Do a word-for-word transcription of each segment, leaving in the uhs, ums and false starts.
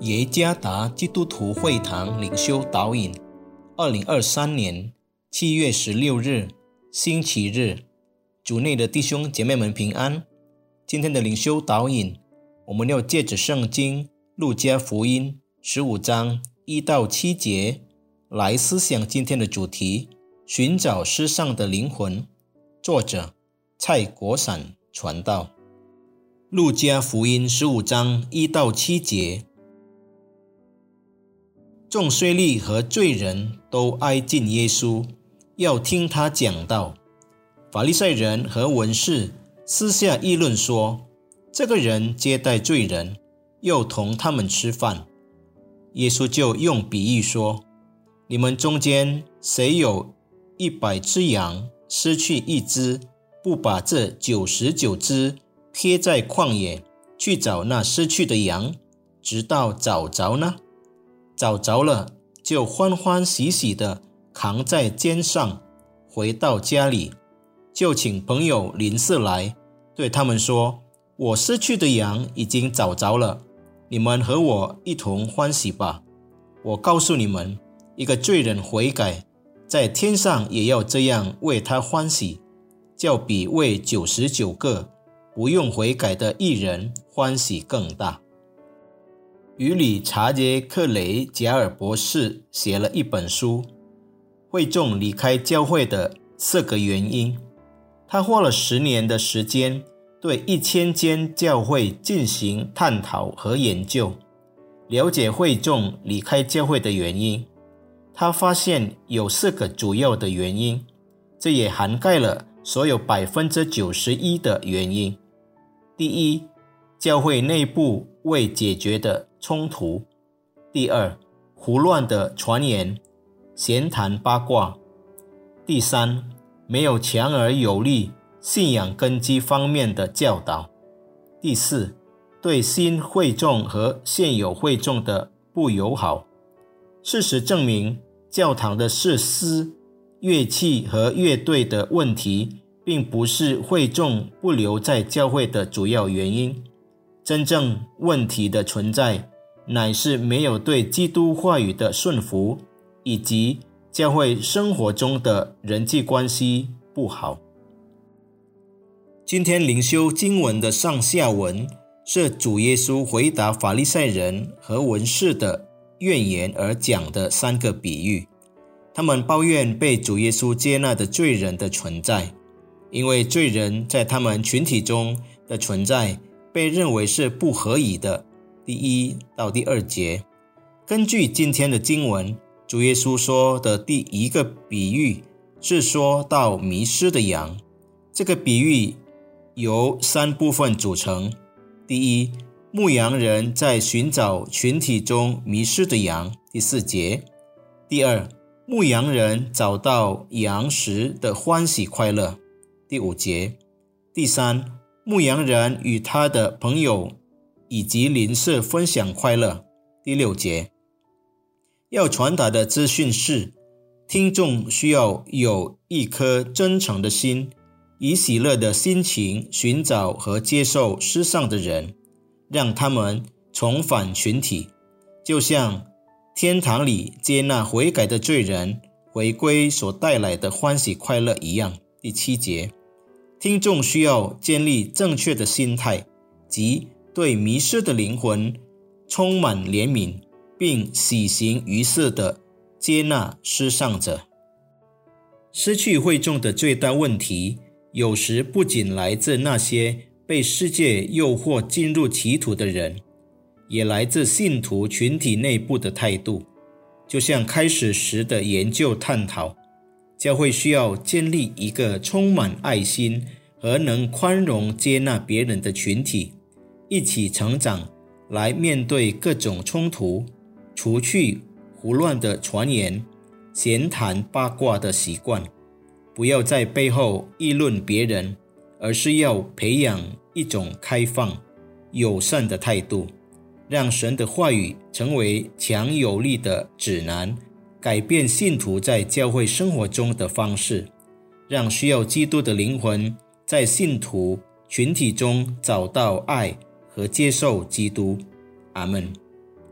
耶加达基督徒会堂灵修导引，二零二三年七月十六日，星期日，主内的弟兄姐妹们平安。今天的灵修导引，我们要借着圣经路加福音十五章一到七节来思想今天的主题：寻找失丧的灵魂。作者蔡国闪传道。路加福音十五章一到七节。众税吏和罪人都挨近耶稣，要听他讲道。法利赛人和文士私下议论说，这个人接待罪人，又同他们吃饭。耶稣就用比喻说，你们中间谁有一百只羊，失去一只，不把这九十九只撇在旷野，去找那失去的羊，直到找着呢？找着了，就欢欢喜喜地扛在肩上，回到家里，就请朋友邻舍来，对他们说，我失去的羊已经找着了，你们和我一同欢喜吧。我告诉你们，一个罪人悔改，在天上也要这样为他欢喜，较比为九十九个不用悔改的义人欢喜更大。于理查杰克雷贾尔博士写了一本书，会众离开教会的四个原因。他花了十年的时间，对一千间教会进行探讨和研究，了解会众离开教会的原因。他发现有四个主要的原因，这也涵盖了所有 百分之九十一 的原因。第一，教会内部未解决的冲突。第二，胡乱的传言，闲谈八卦。第三，没有强而有力信仰根基方面的教导。第四，对新会众和现有会众的不友好。事实证明，教堂的设施、乐器和乐队的问题并不是会众不留在教会的主要原因。真正问题的存在，乃是没有对基督话语的顺服，以及教会生活中的人际关系不好。今天灵修经文的上下文是主耶稣回答法利赛人和文士的怨言而讲的三个比喻。他们抱怨被主耶稣接纳的罪人的存在，因为罪人在他们群体中的存在被认为是不合宜的。第一到第二节，根据今天的经文，主耶稣说的第一个比喻是说到迷失的羊。这个比喻由三部分组成。第一，牧羊人在寻找群体中迷失的羊，第四节。第二，牧羊人找到羊时的欢喜快乐，第五节。第三，牧羊人与他的朋友以及邻舍分享快乐，第六节。要传达的资讯是，听众需要有一颗真诚的心，以喜乐的心情寻找和接受失丧的人，让他们重返群体，就像天堂里接纳悔改的罪人回归所带来的欢喜快乐一样，第七节。听众需要建立正确的心态，即对迷失的灵魂充满怜悯，并喜形于色地接纳失丧者。失去会众的最大问题，有时不仅来自那些被世界诱惑进入歧途的人，也来自信徒群体内部的态度。就像开始时的研究探讨，教会需要建立一个充满爱心和能宽容接纳别人的群体，一起成长，来面对各种冲突，除去胡乱的传言、闲谈八卦的习惯。不要在背后议论别人，而是要培养一种开放、友善的态度，让神的话语成为强有力的指南，改变信徒在教会生活中的方式，让需要基督的灵魂在信徒群体中找到爱和接受基督。阿们。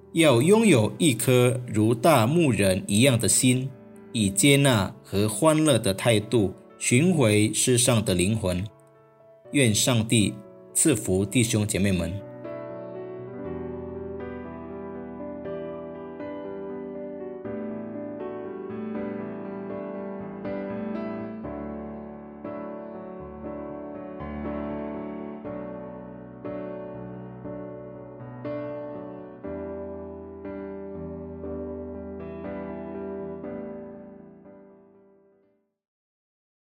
要拥有一颗如大牧人一样的心，以接纳和欢乐的态度寻回世上的灵魂。愿上帝赐福弟兄姐妹们。